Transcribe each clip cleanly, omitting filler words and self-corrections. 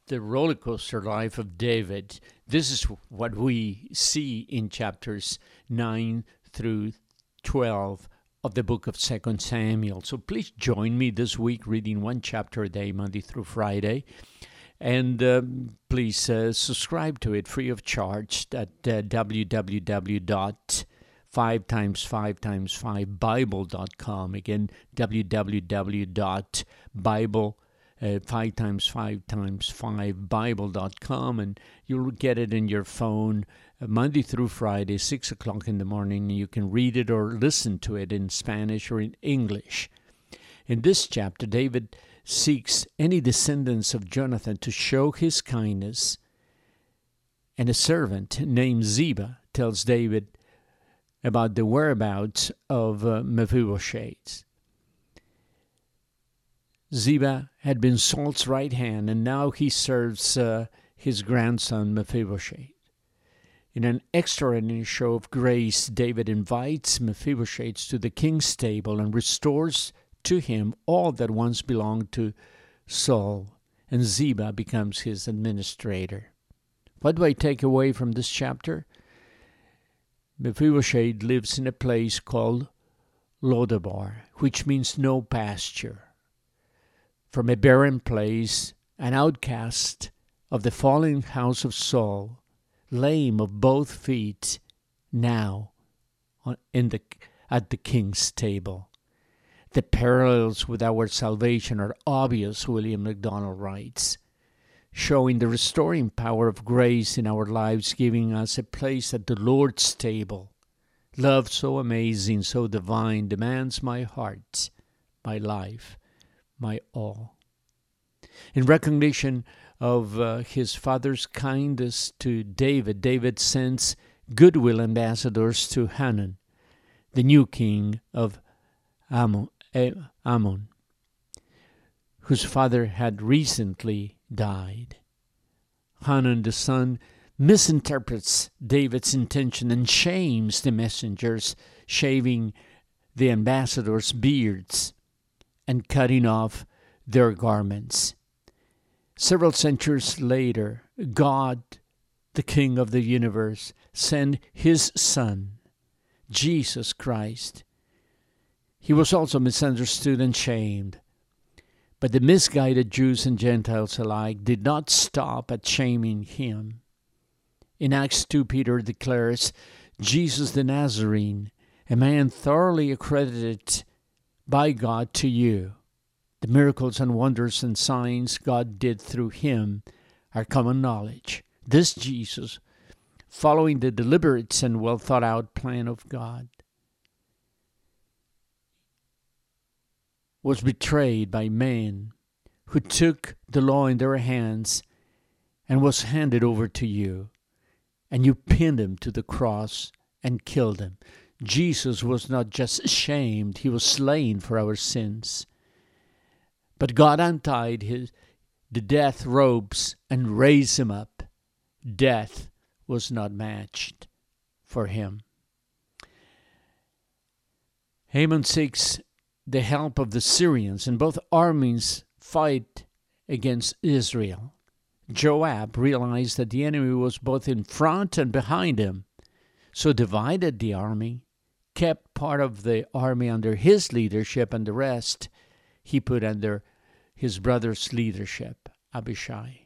the roller coaster life of David. This is what we see in chapters 9 through 12 of the book of 2 Samuel. So please join me this week reading one chapter a day, Monday through Friday. And please subscribe to it free of charge at www.5x5x5bible.com. Again, www.5x5x5bible.com, and you'll get it in your phone Monday through Friday, 6 o'clock in the morning. You can read it or listen to it in Spanish or in English. In this chapter, David seeks any descendants of Jonathan to show his kindness, and a servant named Ziba tells David about the whereabouts of Mephibosheth. Ziba had been Saul's right hand, and now he serves his grandson Mephibosheth. In an extraordinary show of grace, David invites Mephibosheth to the king's table and restores to him all that once belonged to Saul, and Ziba becomes his administrator. What do I take away from this chapter? Mephibosheth lives in a place called Lodabar, which means no pasture. From a barren place, an outcast of the fallen house of Saul, lame of both feet, now at the king's table. The parallels with our salvation are obvious, William MacDonald writes, showing the restoring power of grace in our lives, giving us a place at the Lord's table. Love so amazing, so divine, demands my heart, my life, my all. In recognition of his father's kindness to David, David sends goodwill ambassadors to Hanun, the new king of Ammon, whose father had recently died. Hanun, the son, misinterprets David's intention and shames the messengers, shaving the ambassadors' beards and cutting off their garments. Several centuries later, God, the King of the universe, sent his Son, Jesus Christ. He was also misunderstood and shamed. But the misguided Jews and Gentiles alike did not stop at shaming him. In Acts 2, Peter declares, Jesus the Nazarene, a man thoroughly accredited by God to you. The miracles and wonders and signs God did through him are common knowledge. This Jesus, following the deliberate and well thought out plan of God, was betrayed by men who took the law in their hands and was handed over to you. And you pinned him to the cross and killed him. Jesus was not just shamed, he was slain for our sins. But God untied the death ropes and raised him up. Death was not matched for him. Haman seeks the help of the Syrians, and both armies fight against Israel. Joab realized that the enemy was both in front and behind him, so divided the army, kept part of the army under his leadership, and the rest he put under his brother's leadership, Abishai.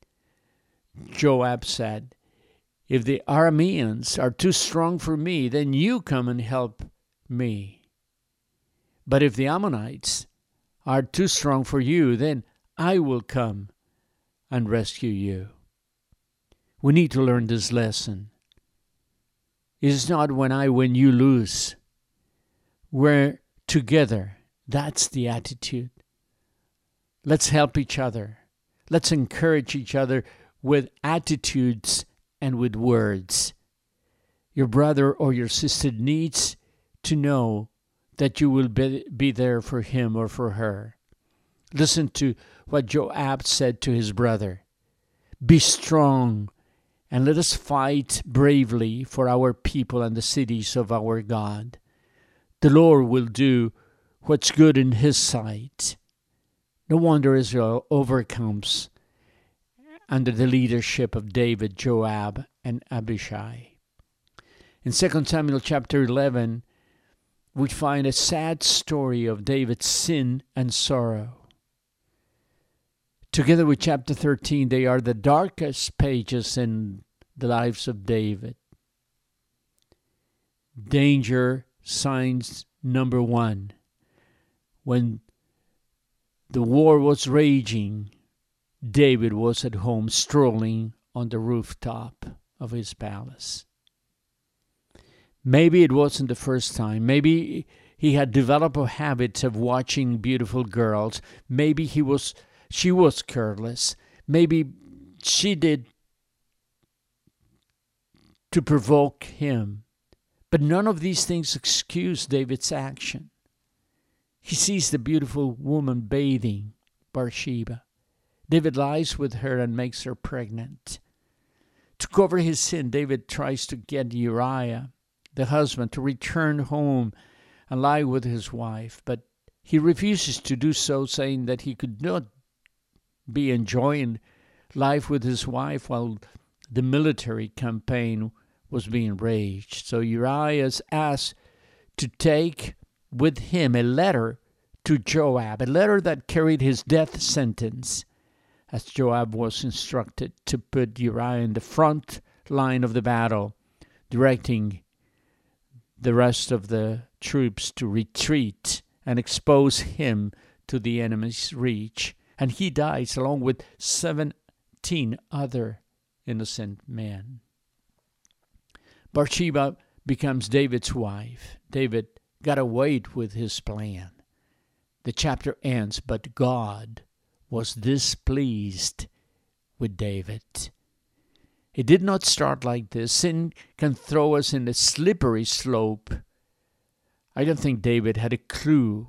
Joab said, if the Arameans are too strong for me, then you come and help me. But if the Ammonites are too strong for you, then I will come and rescue you. We need to learn this lesson. It is not when I win, you lose. We're together. That's the attitude. Let's help each other. Let's encourage each other with attitudes and with words. Your brother or your sister needs to know that you will be there for him or for her. Listen to what Joab said to his brother. Be strong and let us fight bravely for our people and the cities of our God. The Lord will do what's good in his sight. No wonder Israel overcomes under the leadership of David, Joab, and Abishai. In 2 Samuel chapter 11, we find a sad story of David's sin and sorrow. Together with chapter 13, they are the darkest pages in the lives of David. Danger signs number one. When the war was raging, David was at home strolling on the rooftop of his palace. Maybe it wasn't the first time. Maybe he had developed a habit of watching beautiful girls. Maybe she was careless. Maybe she did to provoke him. But none of these things excuse David's action. He sees the beautiful woman bathing, Bathsheba. David lies with her and makes her pregnant. To cover his sin, David tries to get Uriah, the husband, to return home and lie with his wife. But he refuses to do so, saying that he could not be enjoying life with his wife while the military campaign was being waged. So Uriah is asked to take with him a letter to Joab, a letter that carried his death sentence, as Joab was instructed to put Uriah in the front line of the battle, directing the rest of the troops to retreat and expose him to the enemy's reach. And he dies along with 17 other innocent men. Bathsheba becomes David's wife. David got away with his plan. The chapter ends, but God was displeased with David. It did not start like this. Sin can throw us in a slippery slope. I don't think David had a clue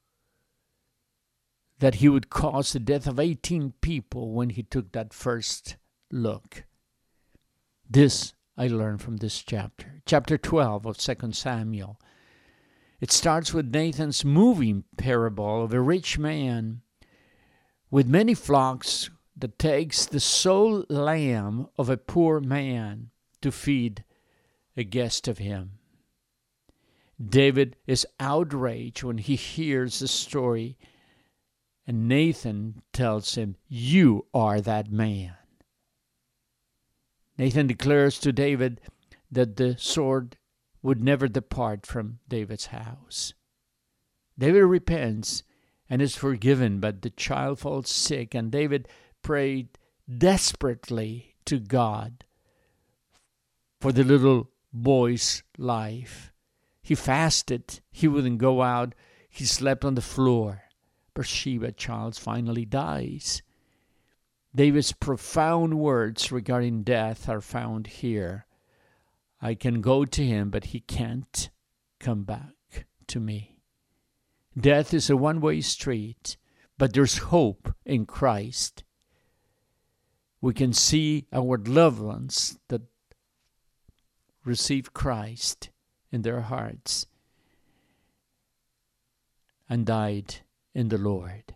that he would cause the death of 18 people when he took that first look. This I learned from this chapter. Chapter 12 of 2 Samuel. It starts with Nathan's moving parable of a rich man with many flocks that takes the sole lamb of a poor man to feed a guest of him. David is outraged when he hears the story, and Nathan tells him, "You are that man." Nathan declares to David that the sword would never depart from David's house. David repents and is forgiven, but the child falls sick, and David prayed desperately to God for the little boy's life. He fasted. He wouldn't go out. He slept on the floor. Bathsheba, child, finally dies. David's profound words regarding death are found here. I can go to him, but he can't come back to me. Death is a one-way street, but there's hope in Christ. We can see our loved ones that receive Christ in their hearts and died in the Lord.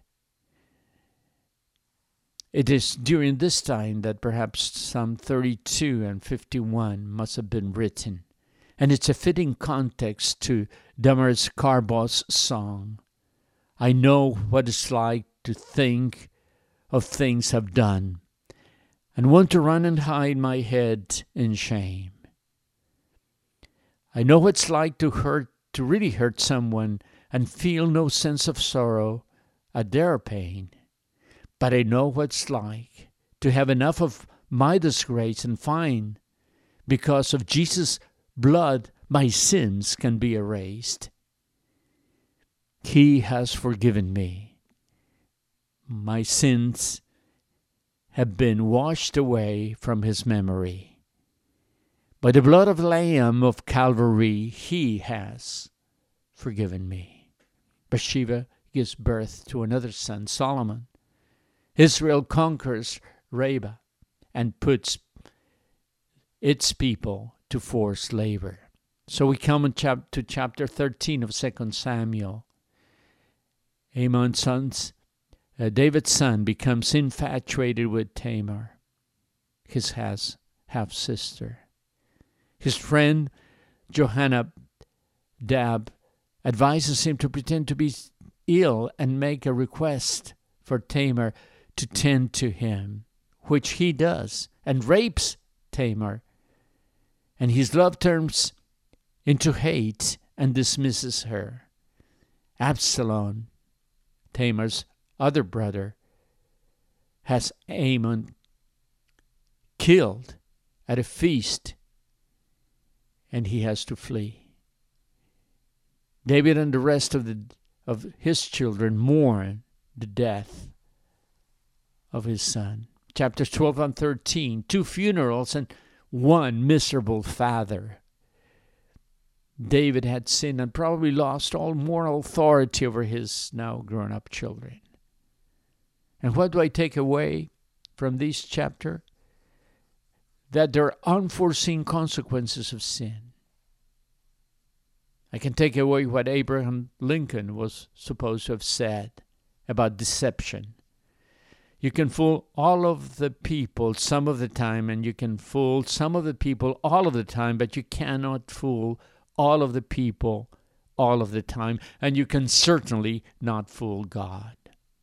It is during this time that perhaps Psalm 32 and 51 must have been written. And it's a fitting context to Damaris Carbaugh's song. I know what it's like to think of things I've done and want to run and hide my head in shame. I know what it's like to really hurt someone and feel no sense of sorrow at their pain. But I know what it's like to have enough of my disgrace and find, because of Jesus' blood, my sins can be erased. He has forgiven me. My sins have been washed away from his memory. By the blood of the Lamb of Calvary, he has forgiven me. Bathsheba gives birth to another son, Solomon. Israel conquers Rabbah and puts its people to forced labor. So we come to chapter 13 of 2 Samuel. David's son, becomes infatuated with Tamar. his half-sister. His friend Jonadab advises him to pretend to be ill and make a request for Tamar to tend to him, which he does, and rapes Tamar. And his love turns into hate and dismisses her. Absalom, Tamar's other brother, has Amnon killed at a feast, and he has to flee. David and the rest of his children mourn the death of his son. Chapters 12 and 13, 2 funerals and one miserable father. David had sinned and probably lost all moral authority over his now grown-up children. And what do I take away from this chapter? That there are unforeseen consequences of sin. I can take away what Abraham Lincoln was supposed to have said about deception. You can fool all of the people some of the time, and you can fool some of the people all of the time, but you cannot fool all of the people all of the time, and you can certainly not fool God.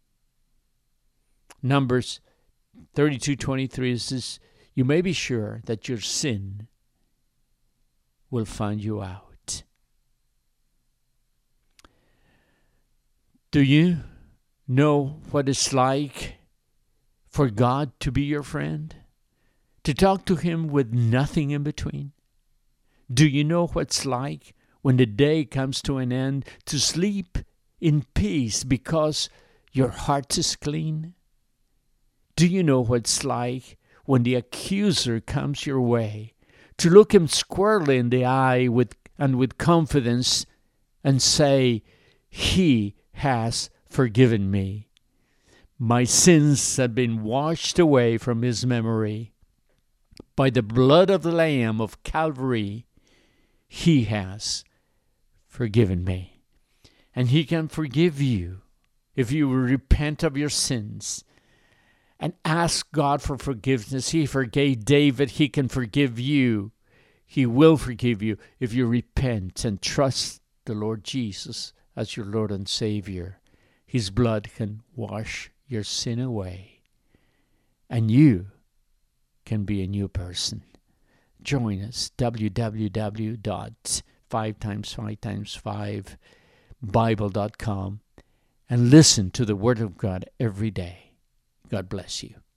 Numbers 32:23 says, you may be sure that your sin will find you out. Do you know what it's like for God to be your friend? To talk to Him with nothing in between? Do you know what it's like when the day comes to an end to sleep in peace because your heart is clean? Do you know what it's like when the accuser comes your way to look him squarely in the eye with confidence and say, He has forgiven me. My sins have been washed away from His memory. By the blood of the Lamb of Calvary, He has forgiven me. And He can forgive you if you will repent of your sins and ask God for forgiveness. He forgave David. He can forgive you. He will forgive you if you repent and trust the Lord Jesus as your Lord and Savior. His blood can wash your sin away, and you can be a new person. Join us, www.5x5x5bible.com, and listen to the Word of God every day. God bless you.